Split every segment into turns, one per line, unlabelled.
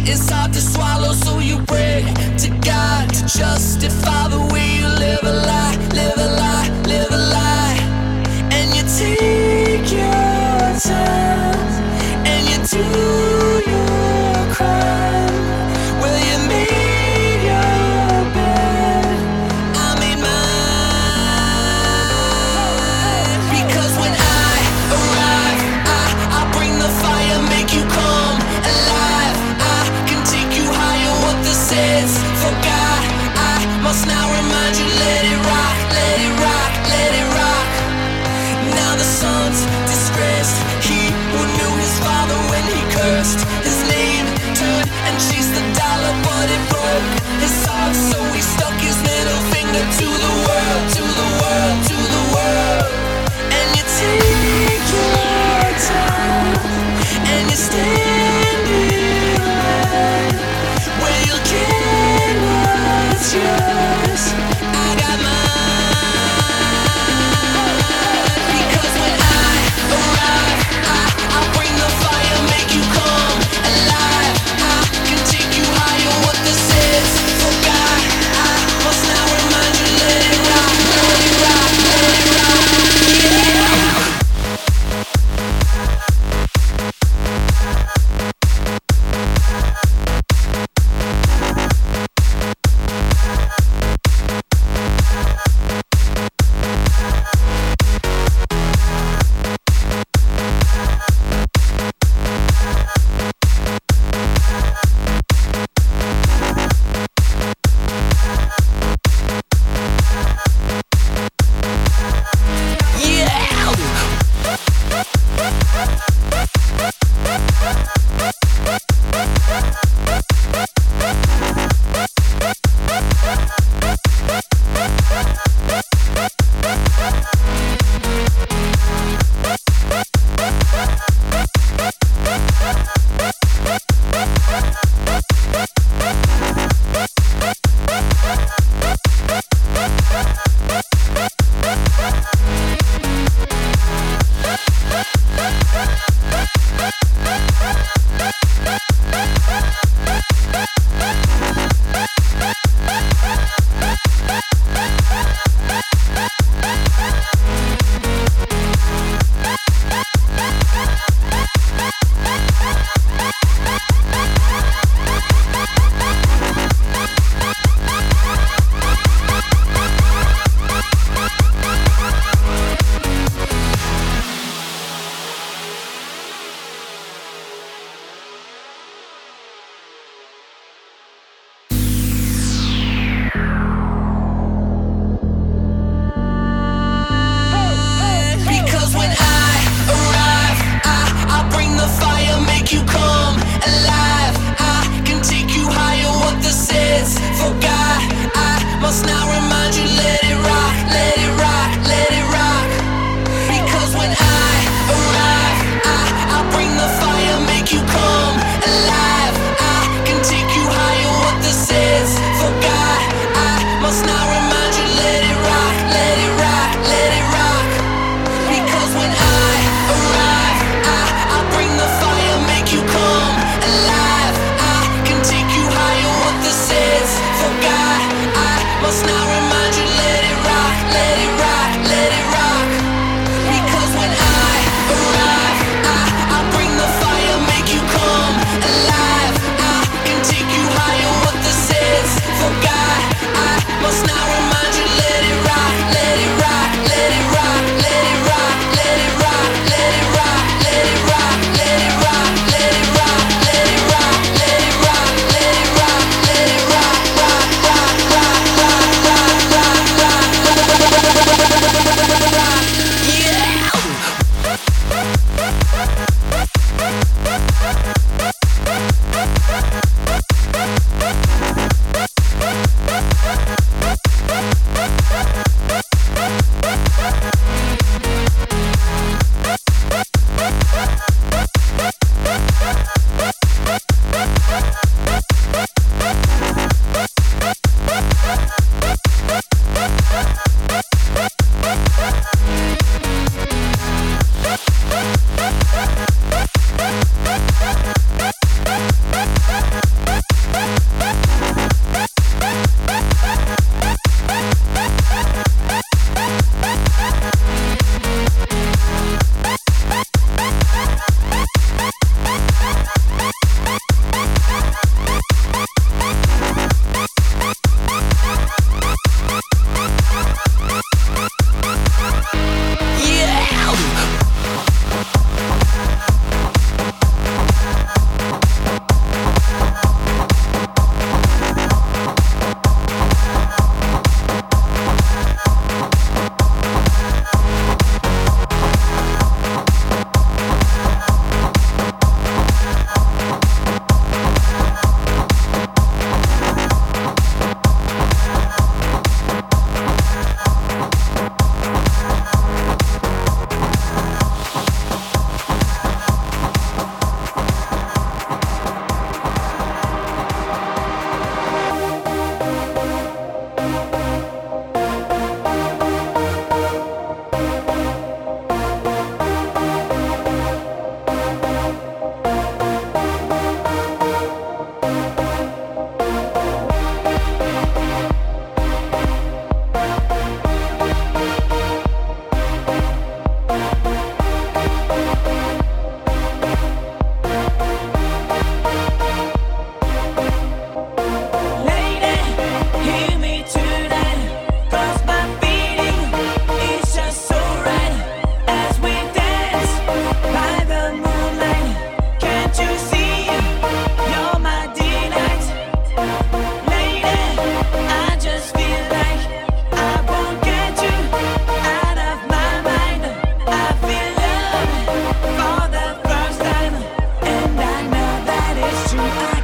It's hard to swallow, so you pray to God to justify the way you live a lie, live a lie, live a lie. And you take your time and you do your crime. Well, you made your bed, I made mine. Because when I arrive, I bring the fire, make you come alive. I can take you higher, what this is. For God, I must now remind you, let it rock, let it rock, let it rock. Now the son's disgraced, he who knew his father when he cursed. His name turned and chased the dollar, but it broke his heart, so he stuck his middle finger to the world, to the world, to the world. And you take your time and you stand in line where you'll get what's yours. I got mine. Because when I arrive, I bring the fire, make you come alive. I can take you higher, what this is. For God, I must now remind you, let it rock, let it rock.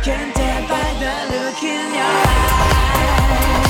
can tell by the look in your eyes.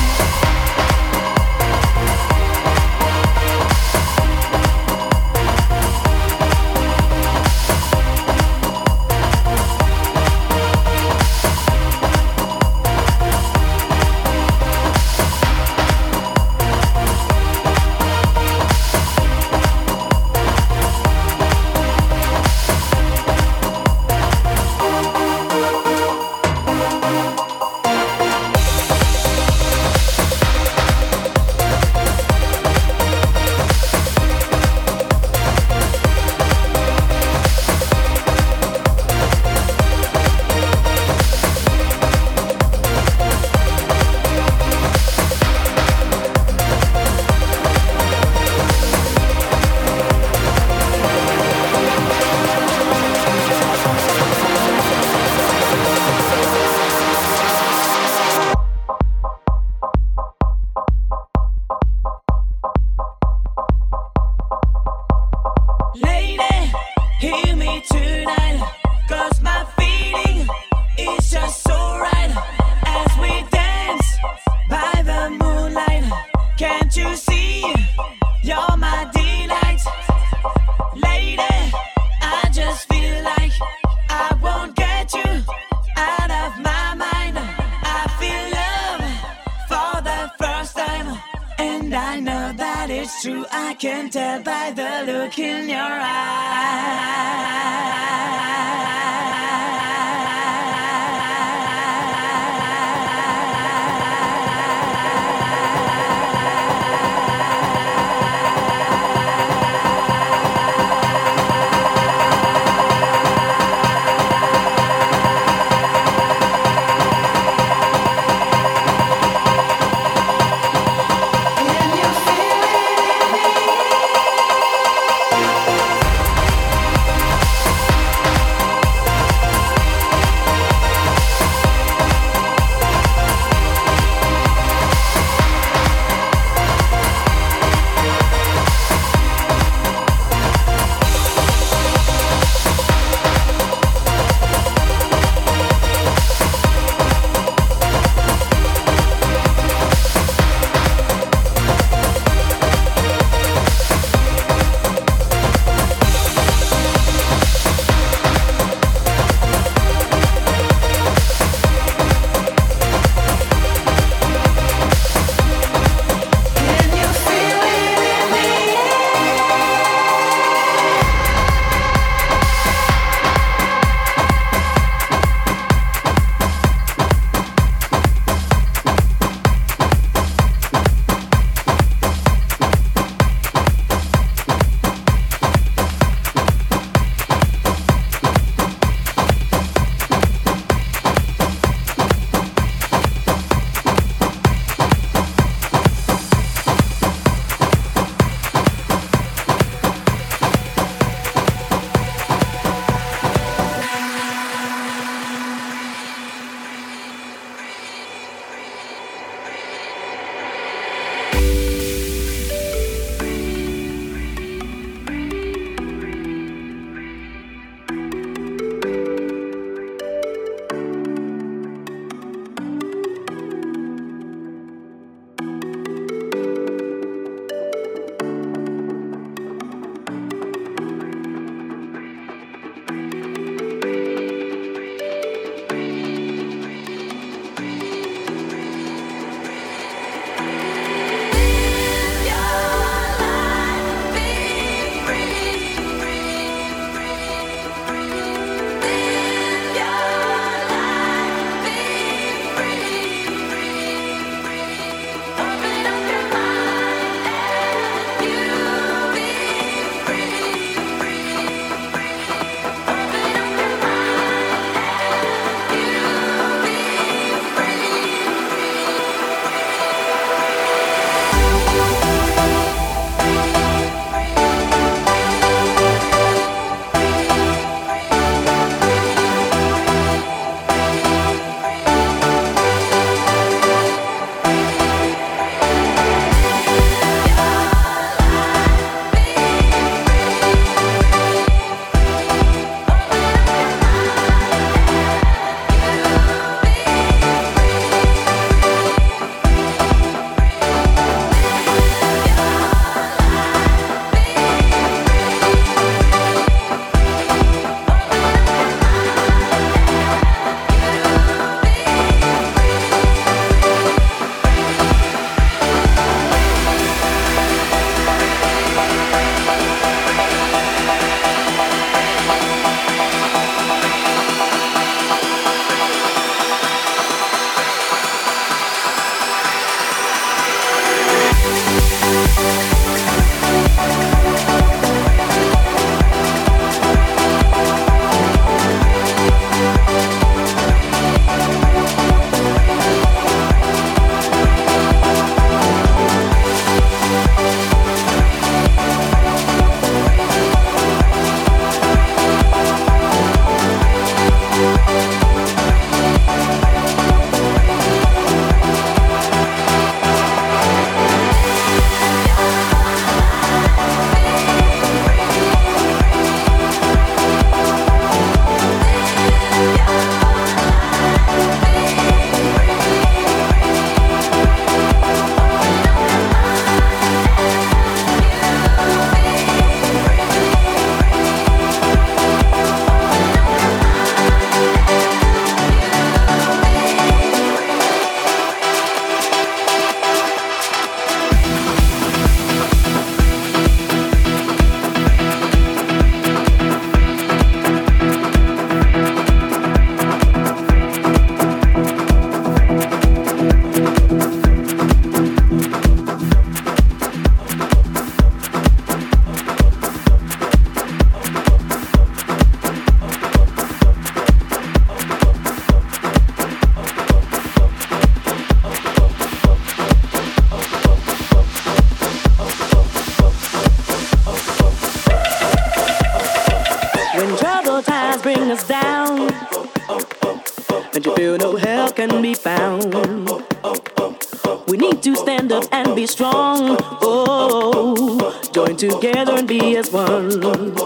help can be found. We need to stand up and be strong. Oh, join together and be as one.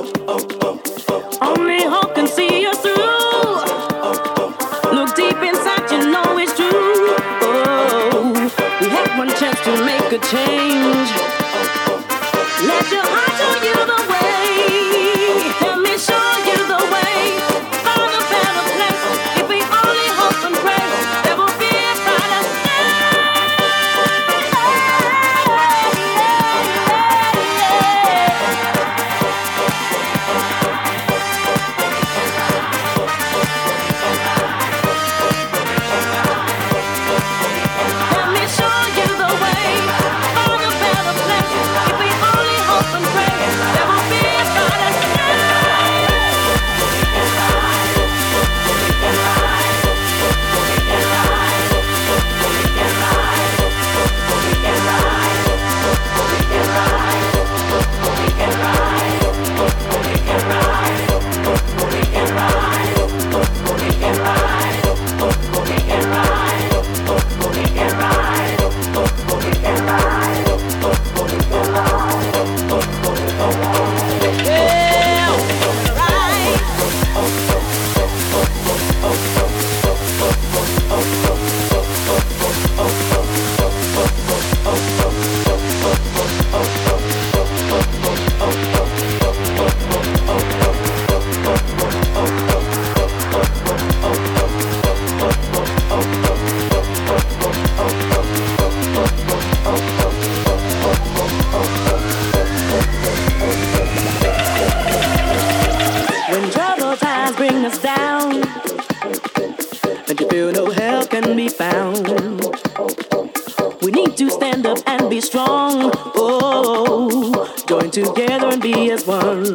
Only hope can see us through. Look deep inside, you know it's true. Oh, we have one chance to make a change. Let your heart show you the way. Let me show you the way. Find a better place. If we only hope and pray, there will be a brighter day. Let me show you the way. Find a better place. If we only hope and pray, there will be a brighter day. When troubled times bring us down, and you feel no help can be found, we need to stand up and be strong. Oh, join together and be as one.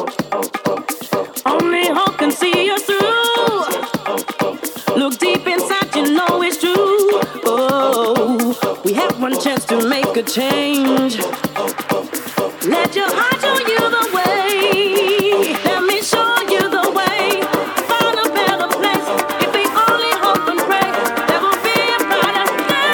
Only hope can see us through. Look deep inside, you know it's true. Oh, we have one chance to make a change. Let your heart show you the way. Let me show you the way. Find a better place. If we only hope and pray, there will be a brighter day.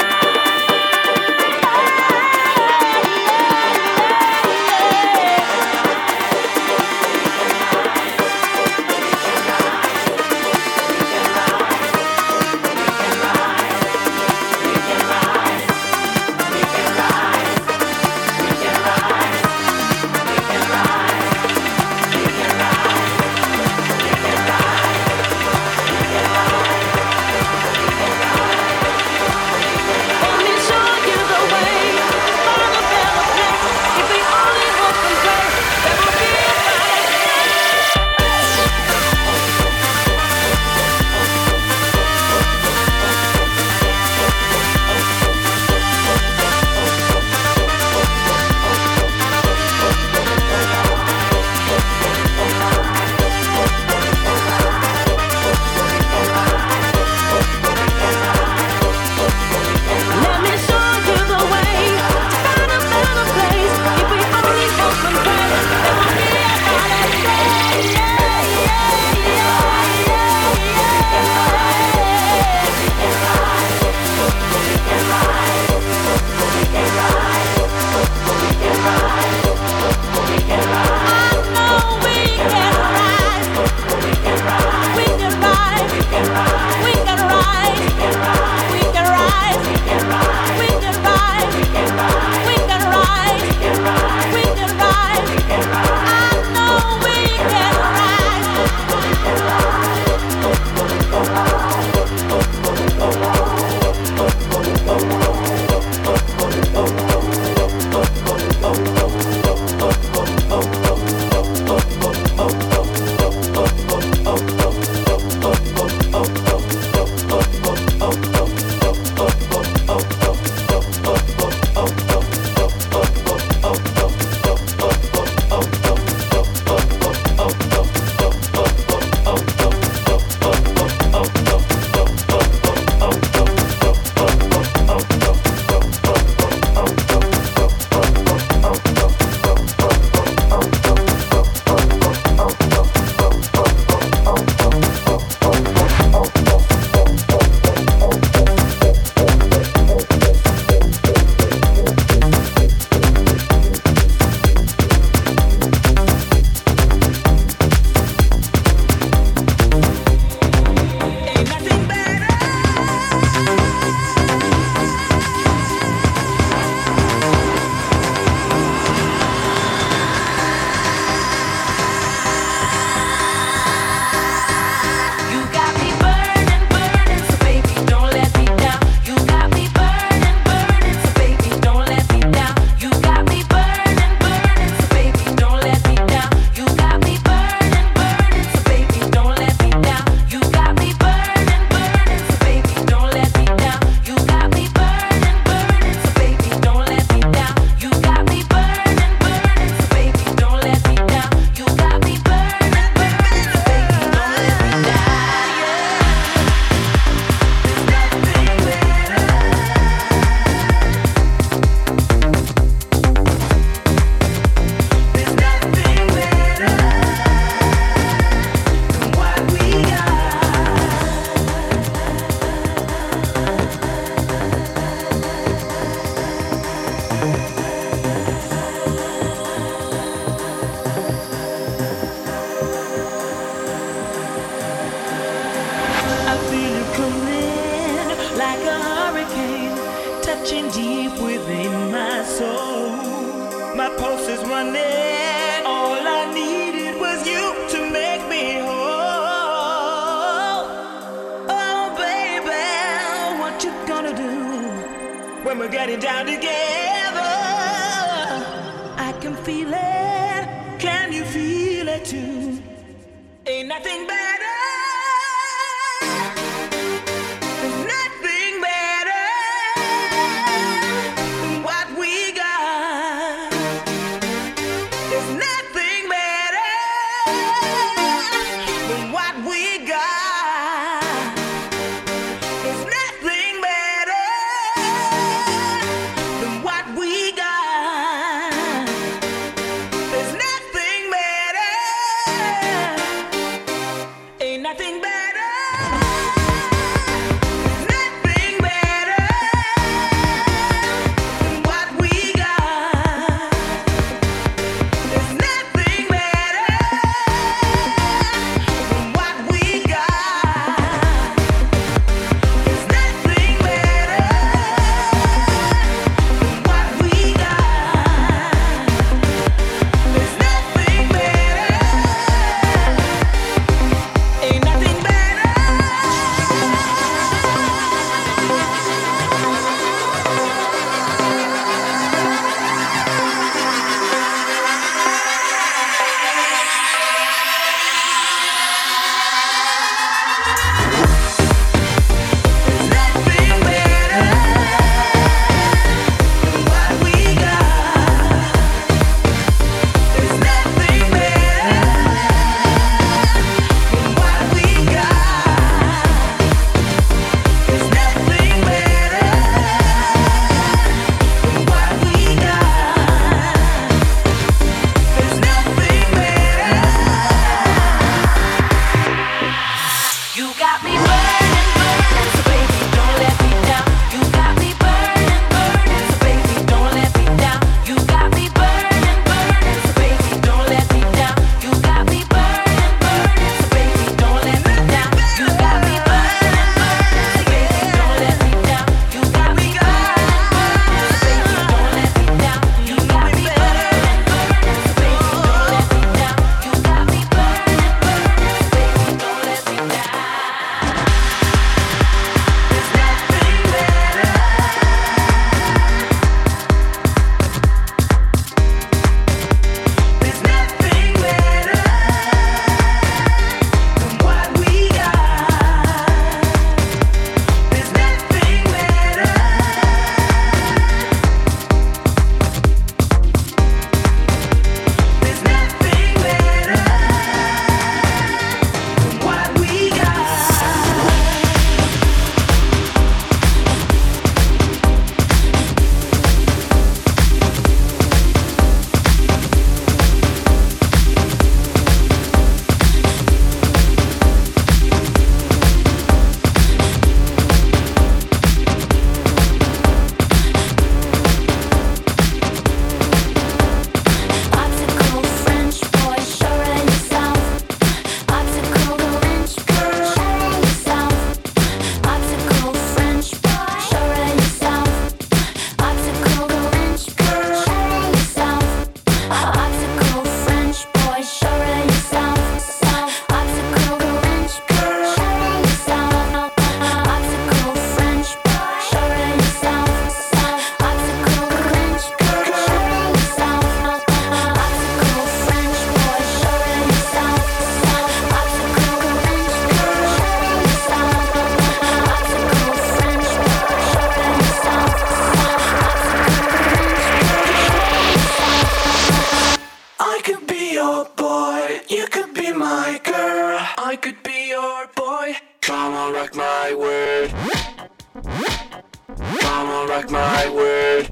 like a hurricane touching deep within my soul. My pulse is running. All I needed was you to make me whole. Oh, baby, what you gonna do when we're getting down together? I can feel it. Can you feel it too? Ain't nothing better. There's nothing better than what we got. There's nothing better than what we got. There's nothing better than what we got. There's nothing better. Ain't nothing better. Nothing better than what we got. There's nothing better than what we got. There's nothing better than what we got. There's nothing better. Ain't nothing better. There's nothing better than what we got. There's nothing better than what we got. There's nothing better than what we got. There's nothing better. You got me burning, burning, so baby, don't let me down. You got me burning, burning, so baby, don't let me down. You got me burning, burning, so baby, don't let me down. You got me burning, burning, so baby, don't let me down. You got me burning, burning, so baby, don't let me down. You got me burning, burning, so baby, don't let me down. You got me burning, burning, so baby, don't let me down. You got me burning, burning, so baby, don't let me down. There's nothing better. There's nothing better than what we got. There's nothing better. There's nothing better than what we got. Popsicle French boy, showing yourself. Popsicle French girl, showing yourself. Popsicle French boy, showing yourself. Popsicle French girl, showing yourself. Popsicle French boy, showing yourself. Popsicle French girl, showing yourself. Popsicle French boy, showing yourself. Popsicle French girl, showing yourself. Popsicle French boy, showing yourself. Popsicle French girl, showing yourself. Popsicle French boy, showing yourself. I could be your boy, you could be my girl. I could be your boy. Come on, rock my world. Come on, rock my world.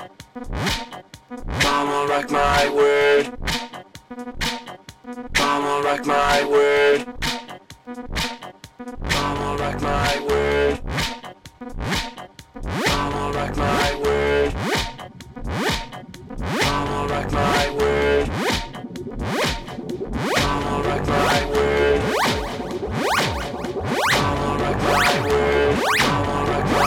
Come on, rock my world. Come on, rock my world. Come on, rock my world. Come on, rock my world. Come on, rock my world. Come on, rock my world. Come on, rock my world. Come on, rock my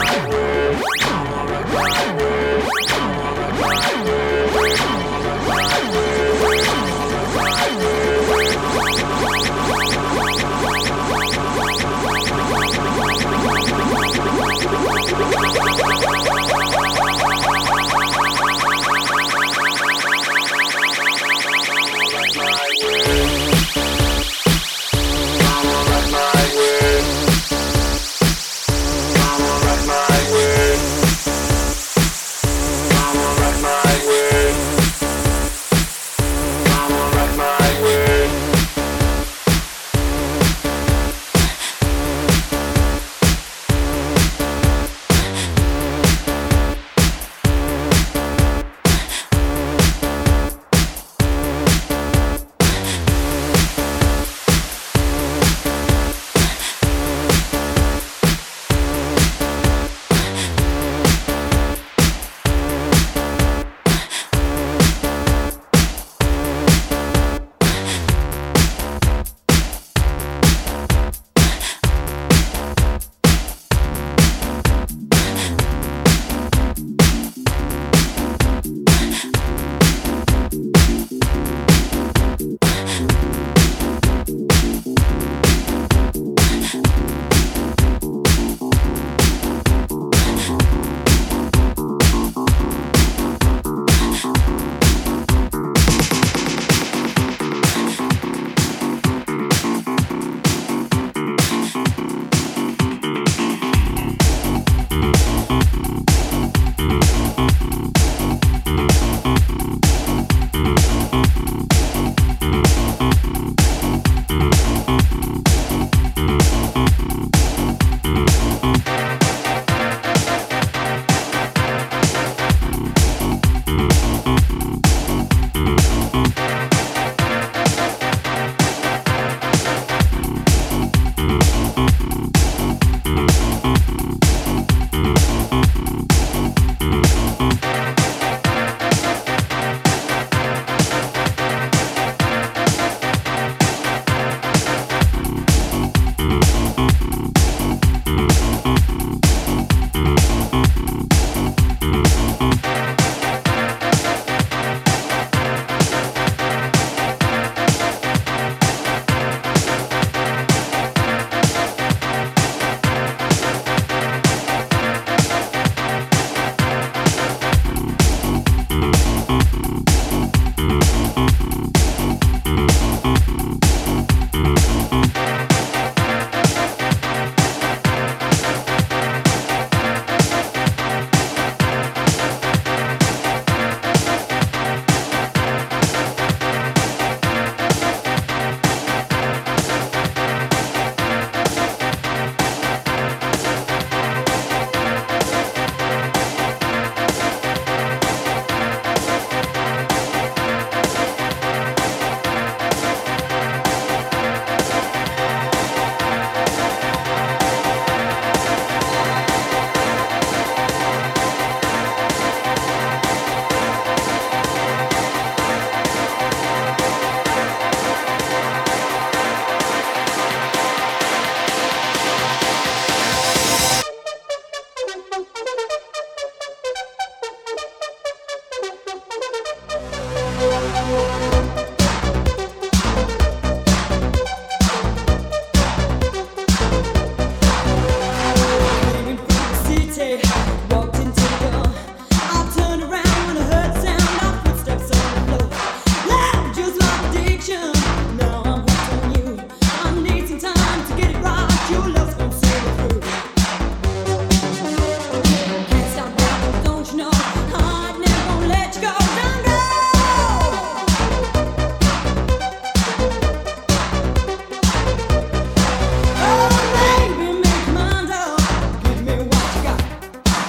Oh, baby, make your mind up. Give me what you got.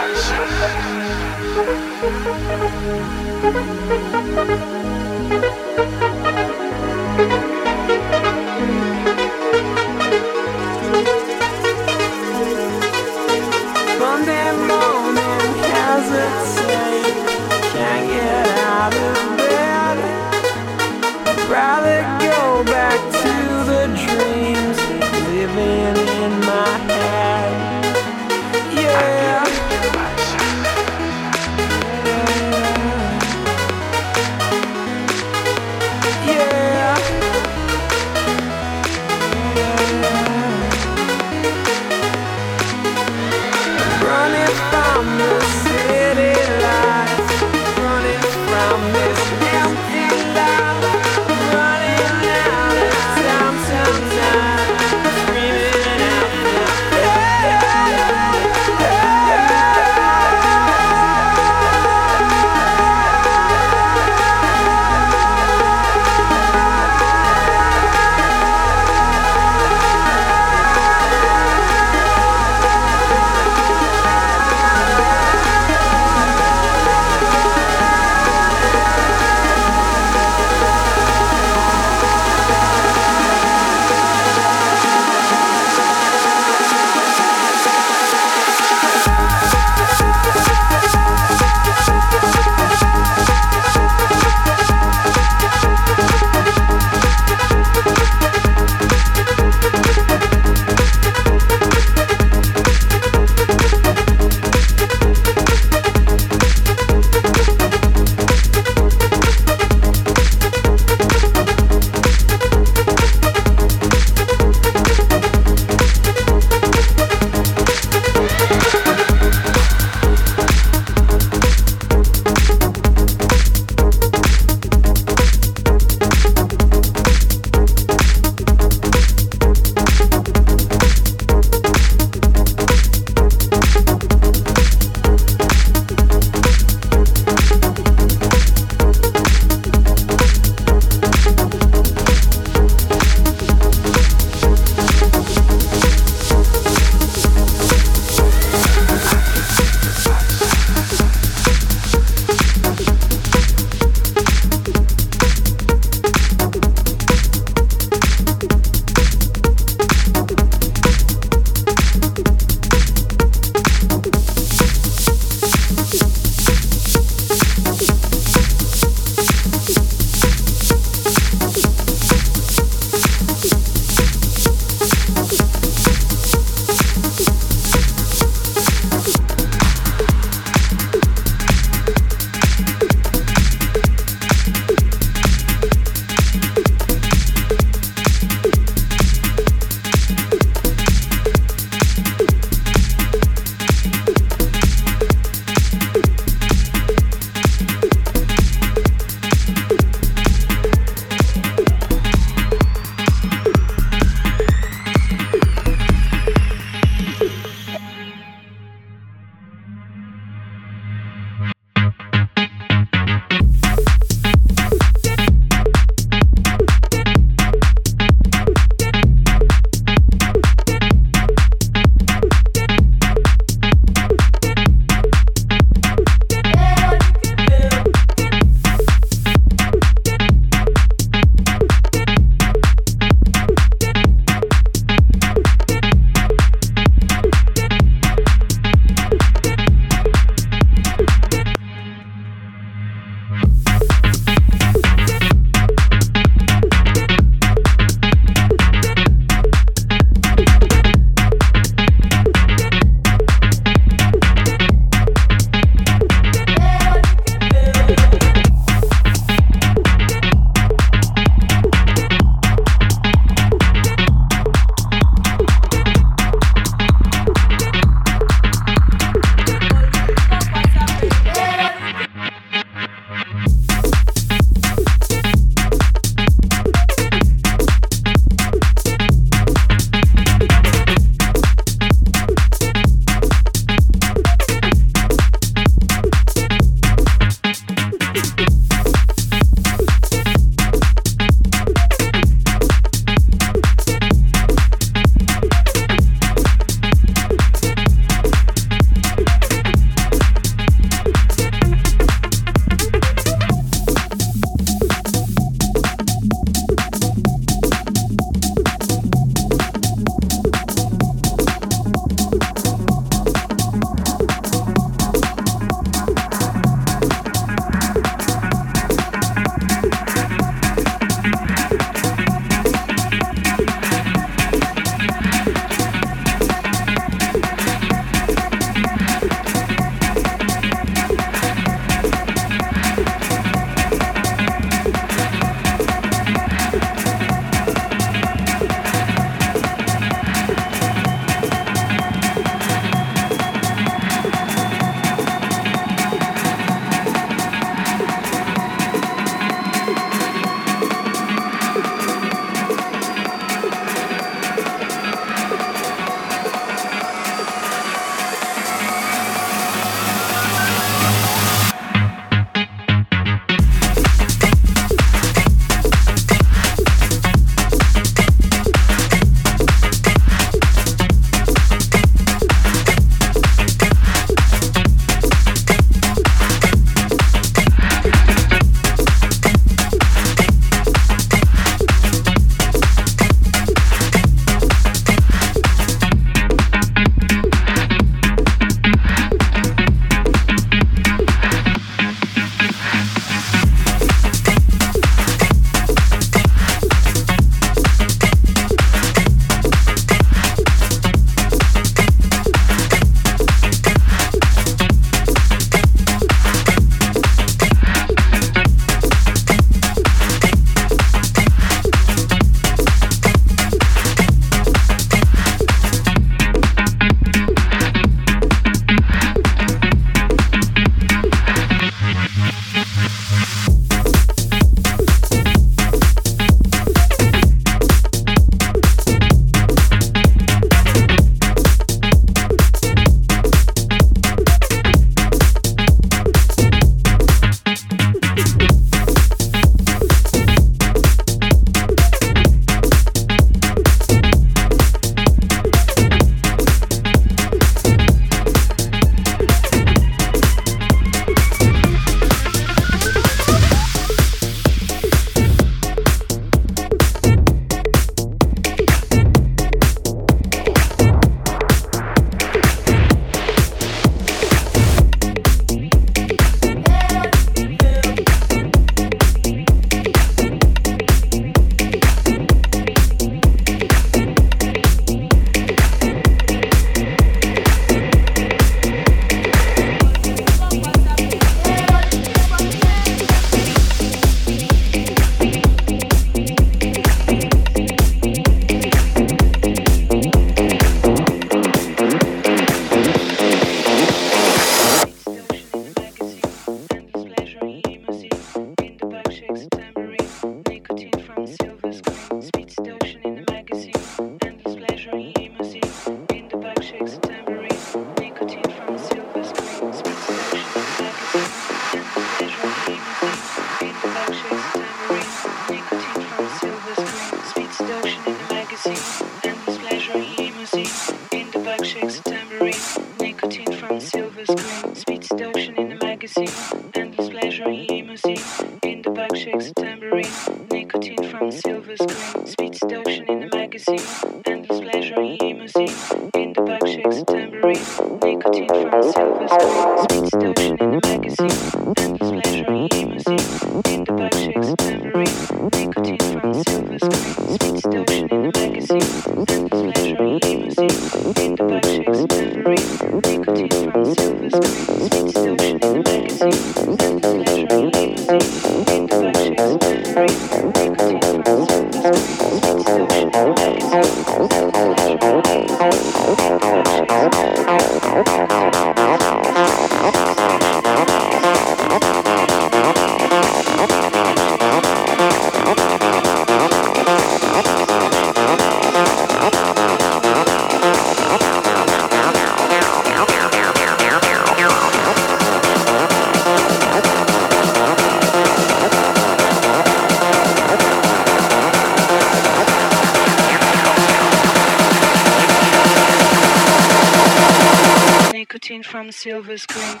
From silver screen.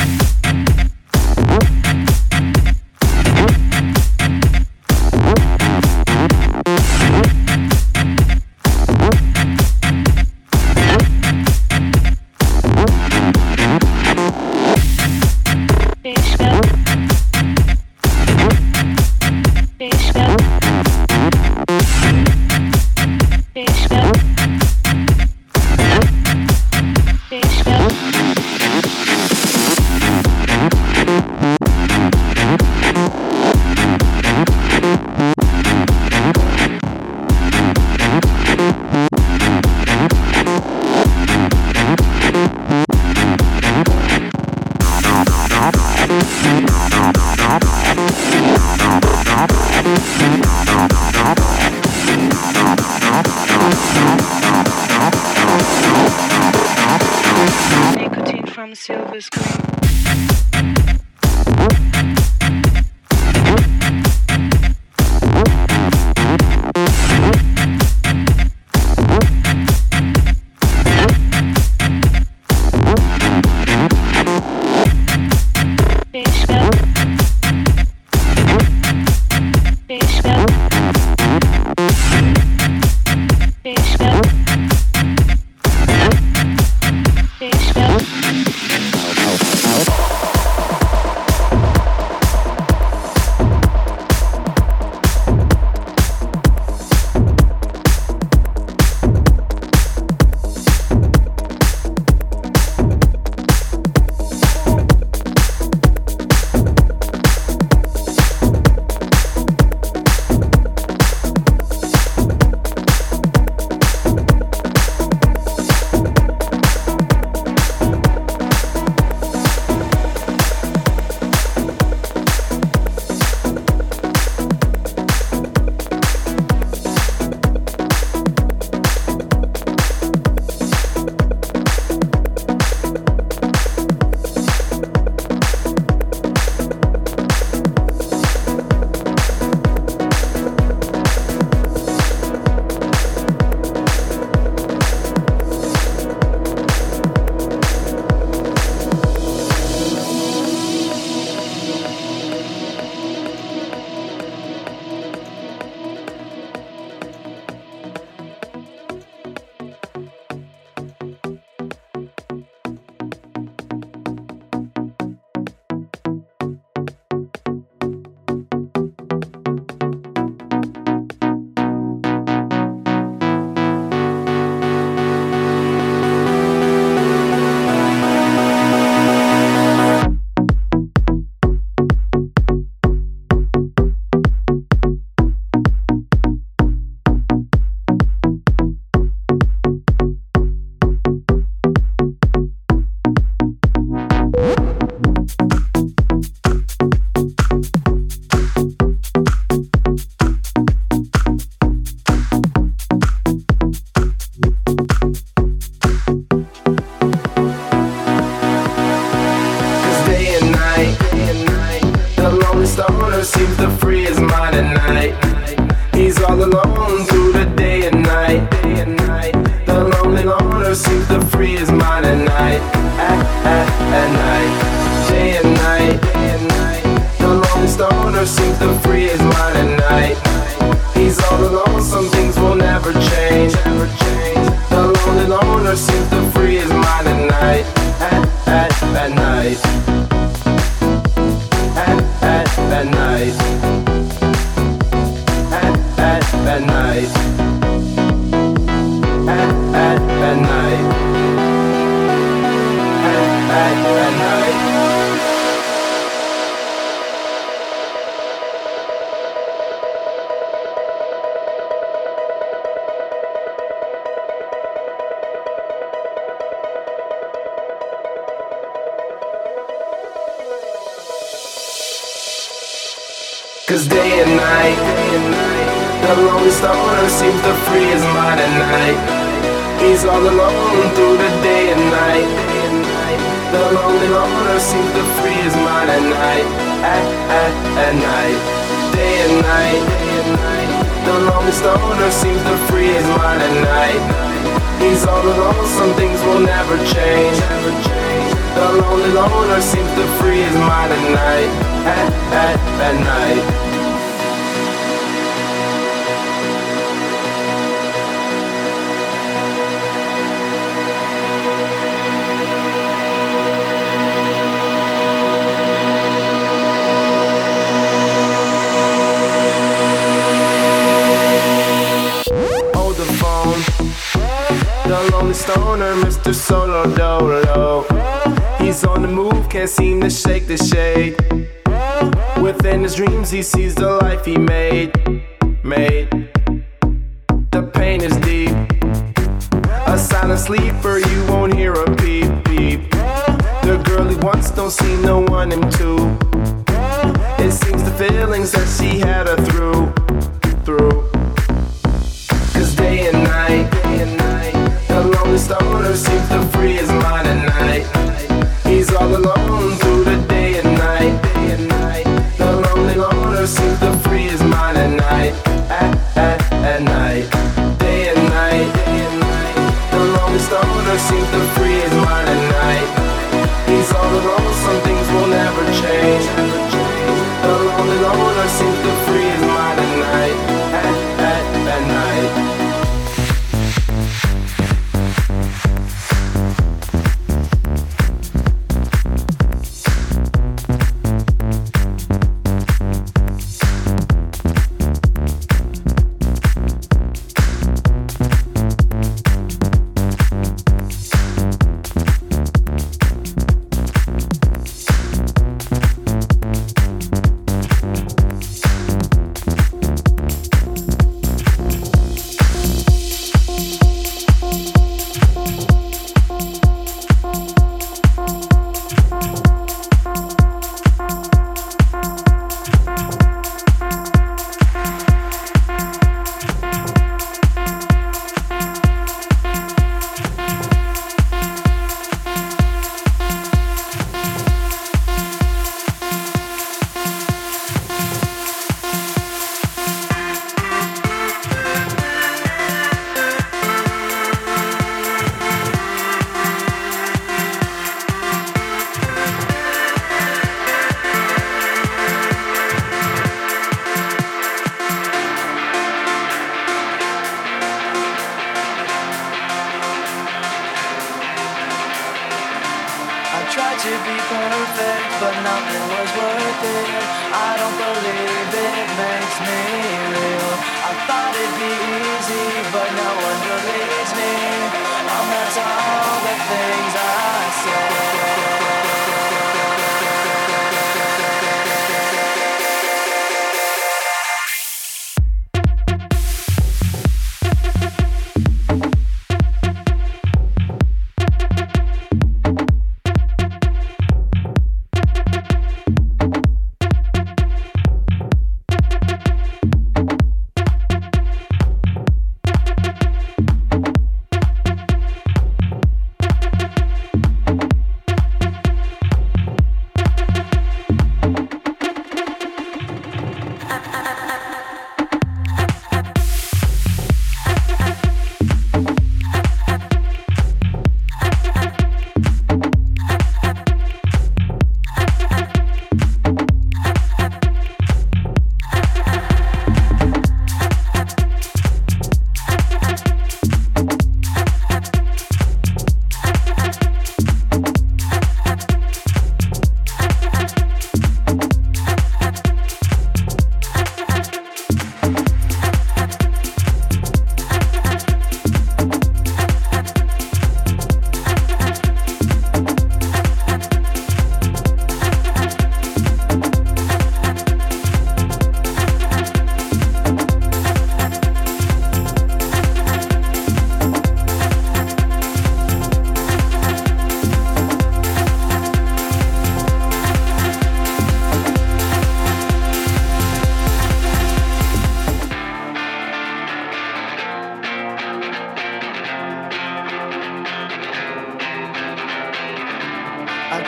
Nicotine from silver screen.
loner seems to free his mind at night. He's all alone through the day and night. The lonely loner seems to free his mind at night. At night. Day and night. The lonely stoner seems to free his mind at night. He's all alone, some things will never change. The lonely loner seems to free his mind at night. At night. At night. At night. At night. At night. Cause day and night, the lonely stoner seems to free his mind at night. He's all alone through the day and night. The lonely loner seems to free his mind at night. At night. Day and night, the lonely stoner seems to free his mind at night. He's all alone, some things will never change. The lonely loner seems to free his mind at night. At night. The lonely stoner, Mr. Solo Dolo. He's on the move, can't seem to shake the shade. Within his dreams he sees the life he made. The pain is deep. A silent sleeper, you won't hear a peep peep. The girl he wants don't seem to want him to. It seems the feelings that she had her through. Cause day and night, the lonely stoner seems to free his mind at night. He's all alone through the day and night. The lonely loner seems to free his mind at night. At night. Day and night. The lonely stoner seems to free his mind at night. He's all alone, some things will never change. The lonely loner seems to free his mind at night. At night.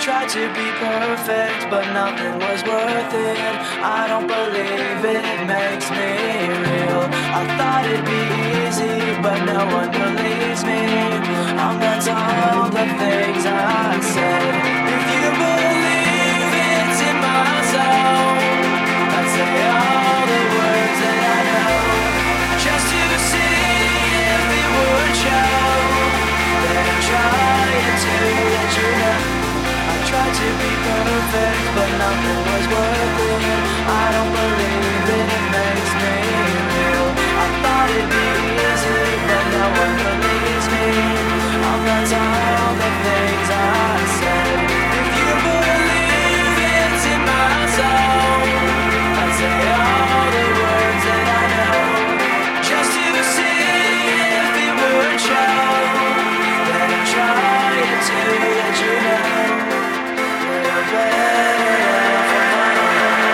tried to be perfect, but nothing was worth it. I don't believe it makes me real. I thought it'd be easy, but no one believes me. I'm gonna tell the things I said. If you believe it's in my soul, I'd say all the words that I know, just to see if it would show that I'm trying to let you know. I tried to be perfect, but nothing was worth it. I don't believe it makes me real. I thought it'd be easy, but no one believes me. I'm gonna tell the things I said. If you believe it's in my soul, I'd say all the words that I know, just to see if it would show that I'm trying to let you know. We're better off alone.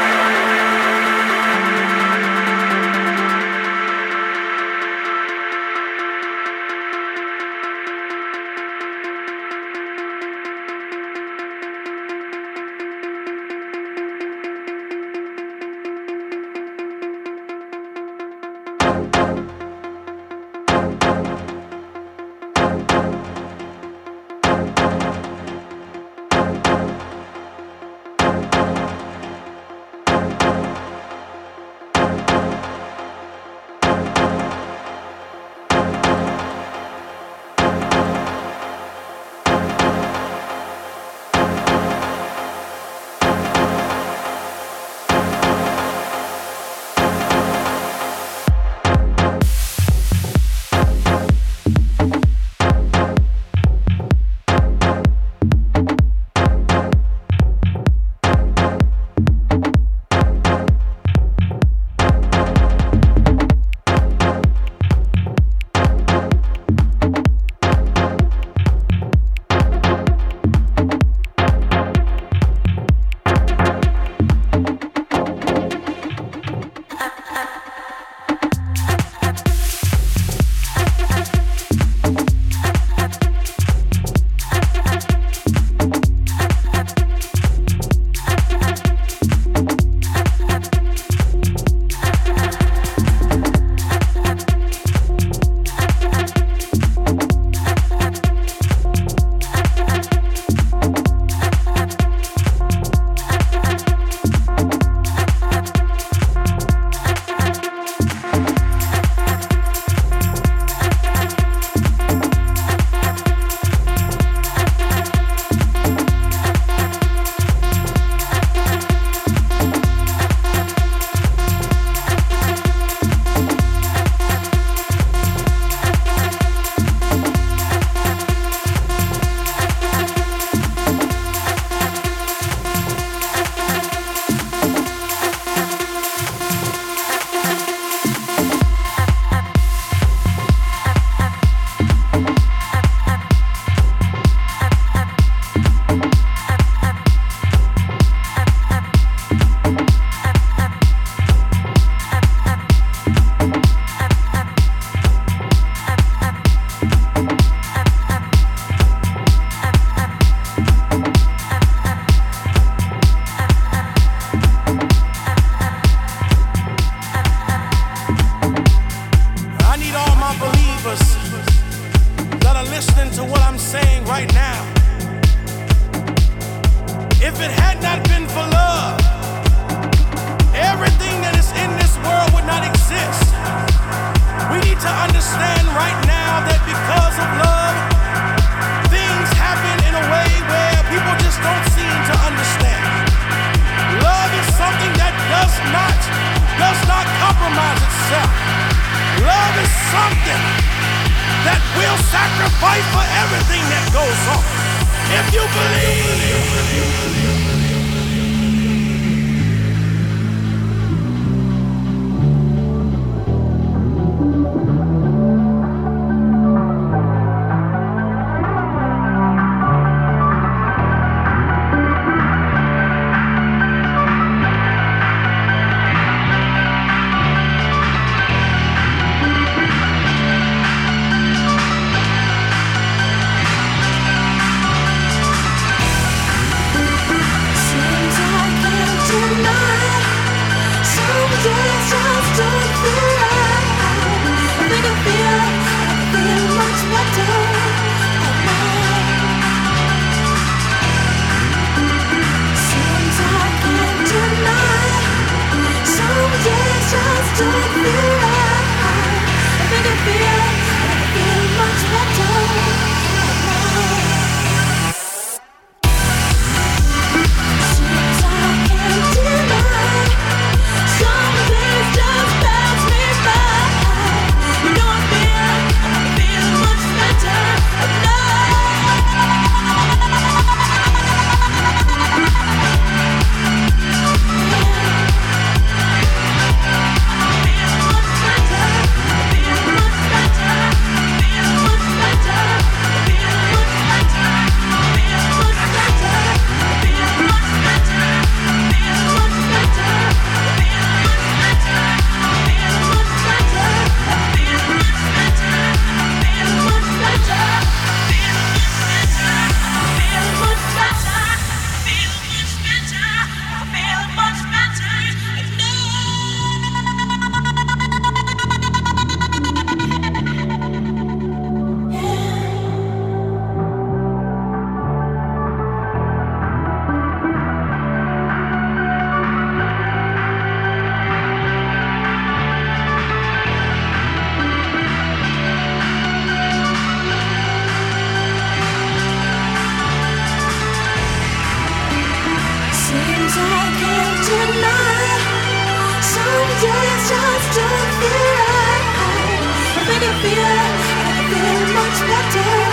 feel much better.